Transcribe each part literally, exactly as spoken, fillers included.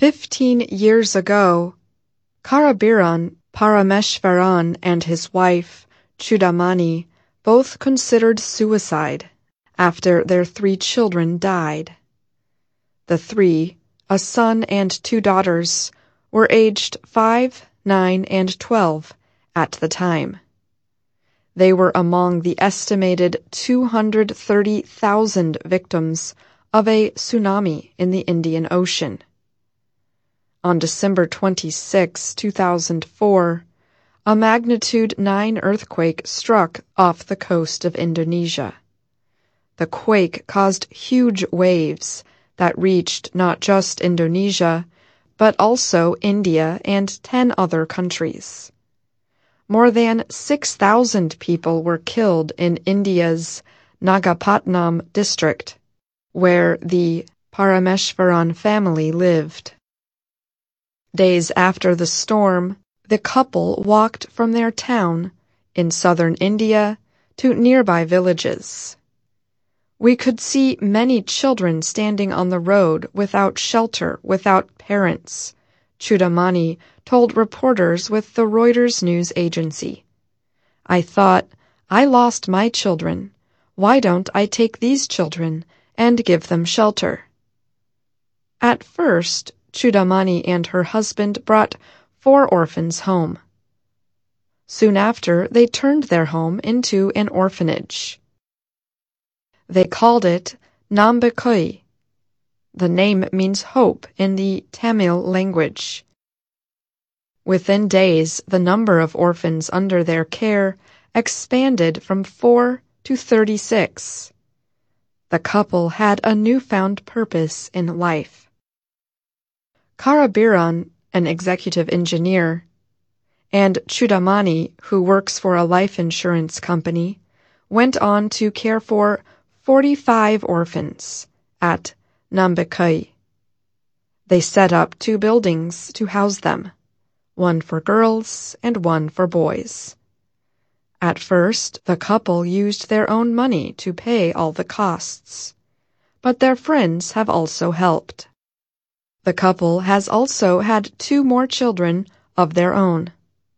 Fifteen years ago, Karabiran Parameshvaran and his wife, Chudamani, both considered suicide after their three children died. The three, a son and two daughters, were aged five, nine, and twelve at the time. They were among the estimated two hundred thirty thousand victims of a tsunami in the Indian Ocean. On December twenty-sixth, two thousand four, a magnitude nine earthquake struck off the coast of Indonesia. The quake caused huge waves that reached not just Indonesia, but also India and ten other countries. More than six thousand people were killed in India's Nagapatnam district, where the Parameshvaran family lived. Days after the storm, the couple walked from their town in southern India to nearby villages. We could see many children standing on the road without shelter, without parents, Chudamani told reporters with the Reuters news agency. I thought, I lost my children. Why don't I take these children and give them shelter? At first, Chudamani and her husband brought four orphans home. Soon after, they turned their home into an orphanage. They called it Nambakoi. The name means hope in the Tamil language. Within days, the number of orphans under their care expanded from four to thirty-six. The couple had a newfound purpose in life. Karabiran, an executive engineer, and Chudamani, who works for a life insurance company, went on to care for forty-five orphans at Nambakai. They set up two buildings to house them, one for girls and one for boys. At first, the couple used their own money to pay all the costs, but their friends have also helped. The couple has also had two more children of their own.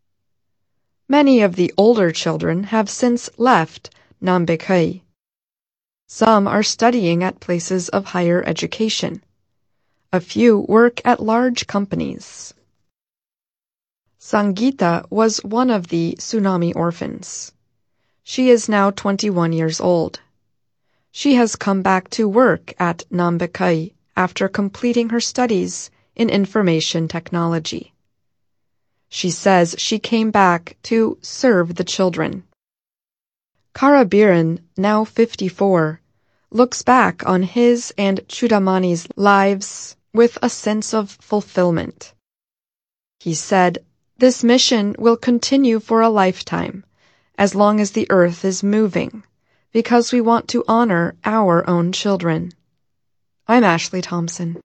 Many of the older children have since left Nambakai. Some are studying at places of higher education. A few work at large companies. Sangeeta was one of the tsunami orphans. She is now twenty-one years old. She has come back to work at Nambakai after completing her studies in information technology. She says she came back to serve the children. Karabiran, now fifty-four, looks back on his and Chudamani's lives with a sense of fulfillment. He said, "This mission will continue for a lifetime, as long as the earth is moving, because we want to honor our own children." I'm Ashley Thompson.